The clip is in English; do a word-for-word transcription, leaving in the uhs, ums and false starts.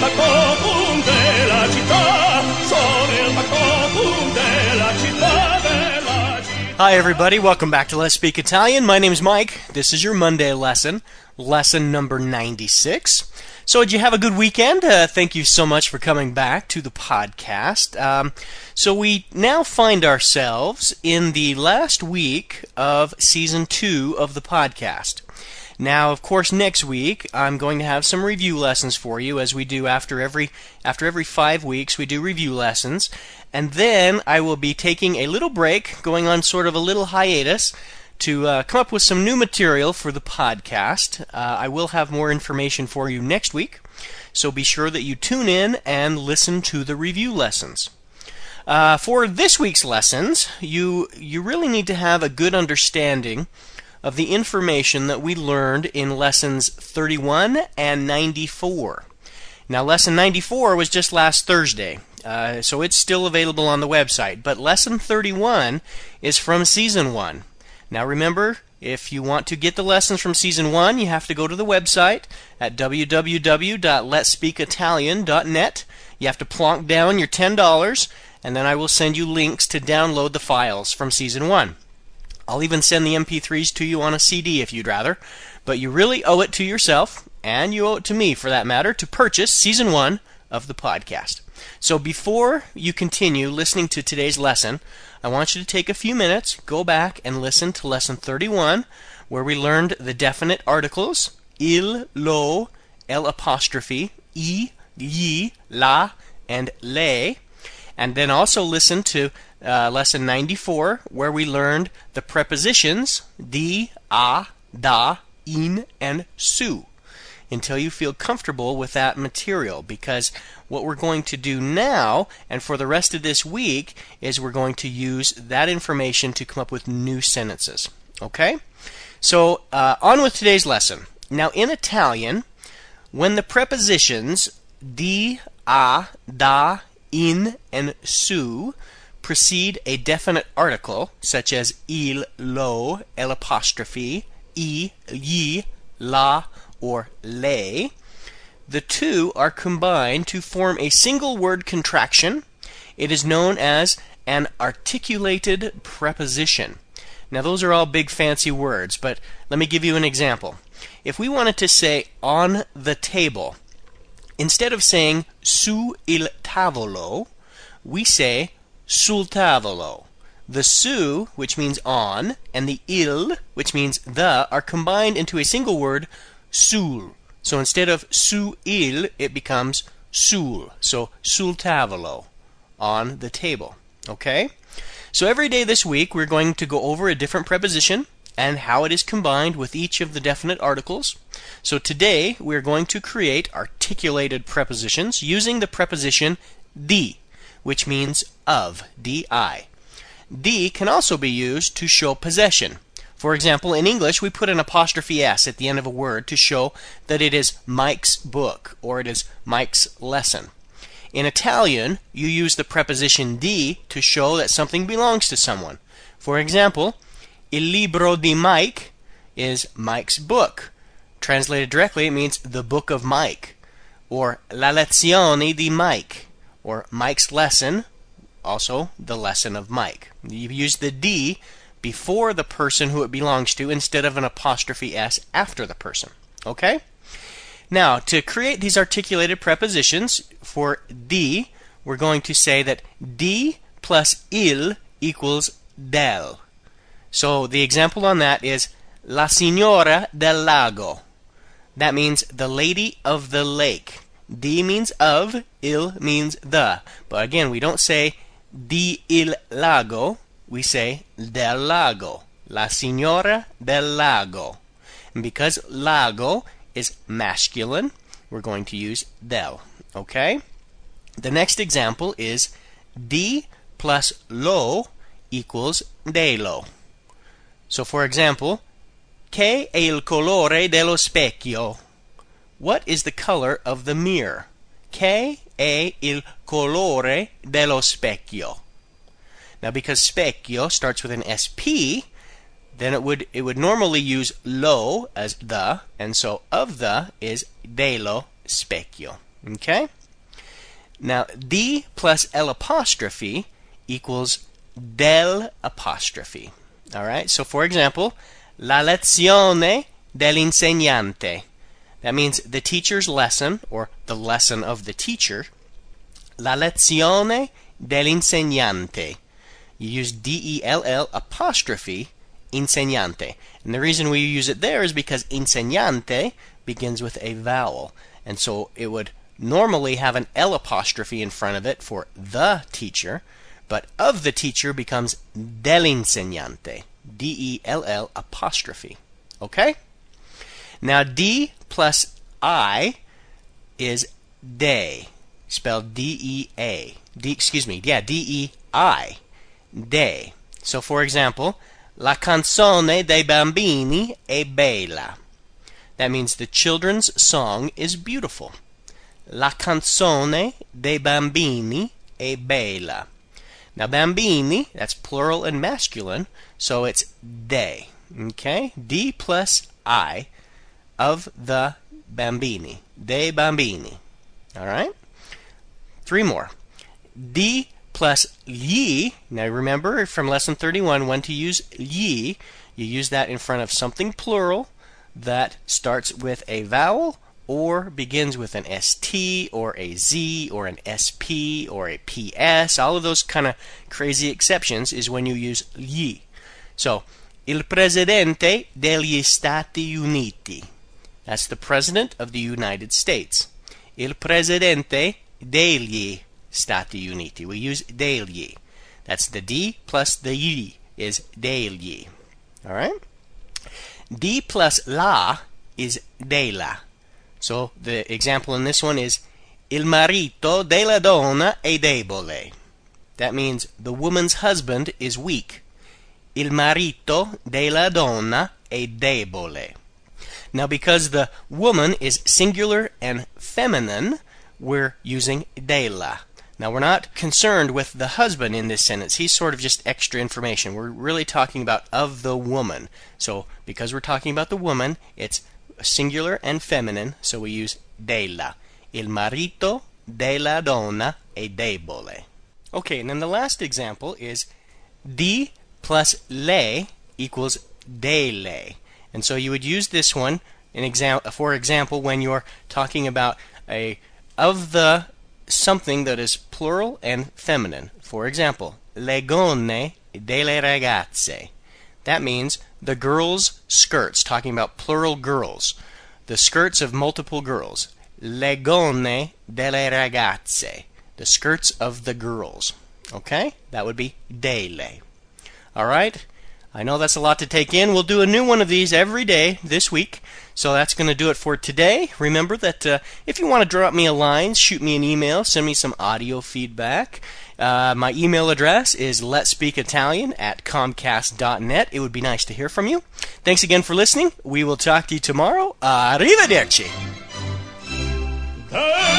factotum della città, sono il factotum della città, della città. Hi everybody, welcome back to Let's Speak Italian. My name's Mike. This is your Monday lesson, lesson number ninety-six. So did you have a good weekend? Uh, thank you so much for coming back to the podcast. Um, so we now find ourselves in the last week of season two of the podcast. Now, of course, next week I'm going to have some review lessons for you, as we do after every after every five weeks. We do review lessons, and then I will be taking a little break, going on sort of a little hiatus, to uh, come up with some new material for the podcast. Uh, I will have more information for you next week, so be sure that you tune in and listen to the review lessons. Uh, for this week's lessons, you you really need to have a good understanding of the information that we learned in lessons thirty-one and ninety-four. Now, lesson ninety-four was just last Thursday, uh, so it's still available on the website, but lesson thirty-one is from season one. Now remember, if you want to get the lessons from season one, you have to go to the website at w w w dot lets speak italian dot net. You have to plonk down your ten dollars, and then I will send you links to download the files from season one. I'll even send the M P threes to you on a C D if you'd rather, but you really owe it to yourself, and you owe it to me for that matter, to purchase season one of the podcast. So before you continue listening to today's lesson, I want you to take a few minutes, go back and listen to lesson thirty-one, where we learned the definite articles, il, lo, el apostrophe, I, gli, la, and le, and then also listen to uh, lesson ninety-four, where we learned the prepositions di, a, da, in, and su, until you feel comfortable with that material, because what we're going to do now and for the rest of this week is we're going to use that information to come up with new sentences. Okay? So uh, on with today's lesson. Now in Italian, when the prepositions di, a, da, in, and su precede a definite article, such as il, lo, el apostrophe, I, gli, la, or le, the two are combined to form a single word contraction. It is known as an articulated preposition. Now those are all big fancy words, but let me give you an example. If we wanted to say on the table, instead of saying su il tavolo, we say sul tavolo. The su, which means on, and the il, which means the, are combined into a single word, sul. So instead of su il, it becomes sul. So sul tavolo, on the table. Okay? So every day this week we're going to go over a different preposition and how it is combined with each of the definite articles. So today we're going to create articulated prepositions using the preposition di, which means of, di. Di can also be used to show possession. For example, in English, we put an apostrophe S at the end of a word to show that it is Mike's book or it is Mike's lesson. In Italian, you use the preposition di to show that something belongs to someone. For example, il libro di Mike is Mike's book. Translated directly, it means the book of Mike. Or la lezione di Mike, or Mike's lesson, also the lesson of Mike. You use the di before the person who it belongs to instead of an apostrophe S after the person. Okay? Now, to create these articulated prepositions for di, we're going to say that di plus il equals del. So the example on that is la signora del lago. That means the lady of the lake. Di means of, il means the. But again, we don't say di il lago. We say del lago, la signora del lago. And because lago is masculine, we're going to use del. Okay? The next example is di plus lo equals delo. So for example, che è il colore dello specchio? What is the color of the mirror? Che è il colore dello specchio? Now, because specchio starts with an S P, then it would it would normally use lo as the, and so of the is dello specchio. Okay? Now, di plus L apostrophe equals del apostrophe. All right? So, for example, la lezione dell'insegnante. That means the teacher's lesson, or the lesson of the teacher. La lezione dell'insegnante. You use D E L L apostrophe insegnante. And the reason we use it there is because insegnante begins with a vowel. And so it would normally have an L apostrophe in front of it for the teacher, but of the teacher becomes dell'insegnante. D E L L apostrophe. Okay? Now, D plus I is de, spelled D E A. D, excuse me, yeah, D E I. De. So, for example, la canzone dei bambini è bella. That means the children's song is beautiful. La canzone dei bambini è bella. Now, bambini, that's plural and masculine, so it's de. Okay? D plus I of the bambini. Dei bambini. All right? Three more. D plus gli. Now, remember from lesson thirty-one, when to use gli, you use that in front of something plural that starts with a vowel or begins with an S T or a Z or an S P or a P S. All of those kind of crazy exceptions is when you use gli. So, il presidente degli Stati Uniti. That's the president of the United States. Il presidente degli Stati Uniti. We use degli. That's the D plus the Y is degli. All right? D plus la is della. So the example in this one is il marito della donna è debole. That means the woman's husband is weak. Il marito della donna è debole. Now, because the woman is singular and feminine, we're using della. Now, we're not concerned with the husband in this sentence. He's sort of just extra information. We're really talking about of the woman. So, because we're talking about the woman, it's singular and feminine, so we use della. Il marito della donna è debole. Okay, and then the last example is di plus le equals delle. And so you would use this one, in exam for example, when you're talking about a of the something that is plural and feminine. For example, le gonne delle ragazze. That means the girls' skirts, talking about plural girls. The skirts of multiple girls. Le gonne delle ragazze. The skirts of the girls. Okay? That would be delle. All right? I know that's a lot to take in. We'll do a new one of these every day this week. So that's going to do it for today. Remember that uh, if you want to drop me a line, shoot me an email, send me some audio feedback. Uh, my email address is letspeakitalian at comcast dot net. It would be nice to hear from you. Thanks again for listening. We will talk to you tomorrow. Arrivederci.